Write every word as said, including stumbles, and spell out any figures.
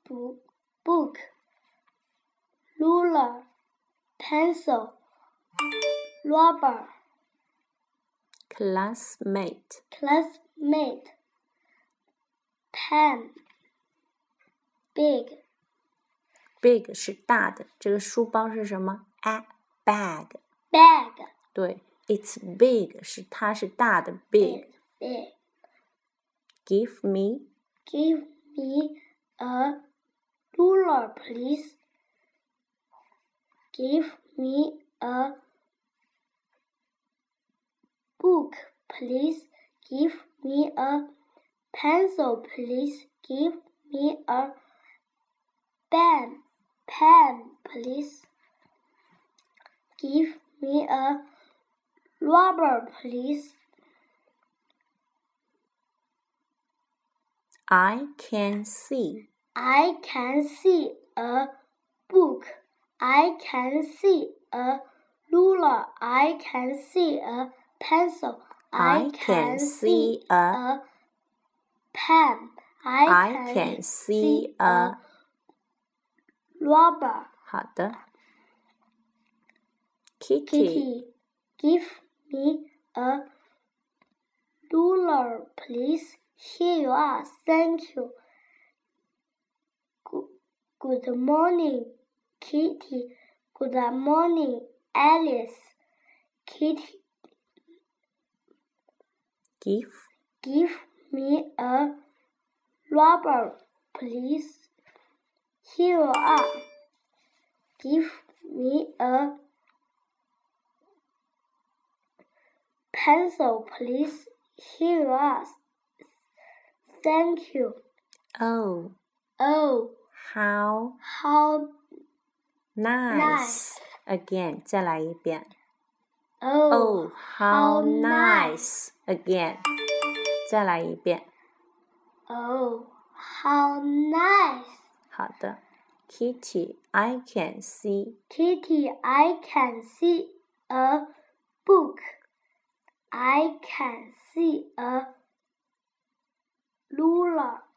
book, ruler, pencil, rubber, classmate, classmate, pen, big, big 是大的，这个书包是什么 ？A bag, bag, 对 ，it's big 是它是大的 big. big. Give me, Give me a ruler, please. Give me a book, please. Give me a pencil, please. Give me a pen, pen, please. Give me a rubber, please. I can see, I can see a book. I can see a ruler. I can see a pencil. I can see a pen. I, I can see a rubber. 好的 Kitty, Kitty, give me a ruler, please. Here you are. Thank you. Good, good morning, Kitty. Good morning, Alice. Kitty, give, give me a rubber, please. Here you are. Give me a pencil, please. Here you are. Thank you. oh, Oh, how how nice. nice. Again, 再来一遍 Oh, Oh, how how nice. Again, 再来一遍 Oh, how nice. 好的 Kitty, I can see, Kitty, I can see a book. I can see a ruler.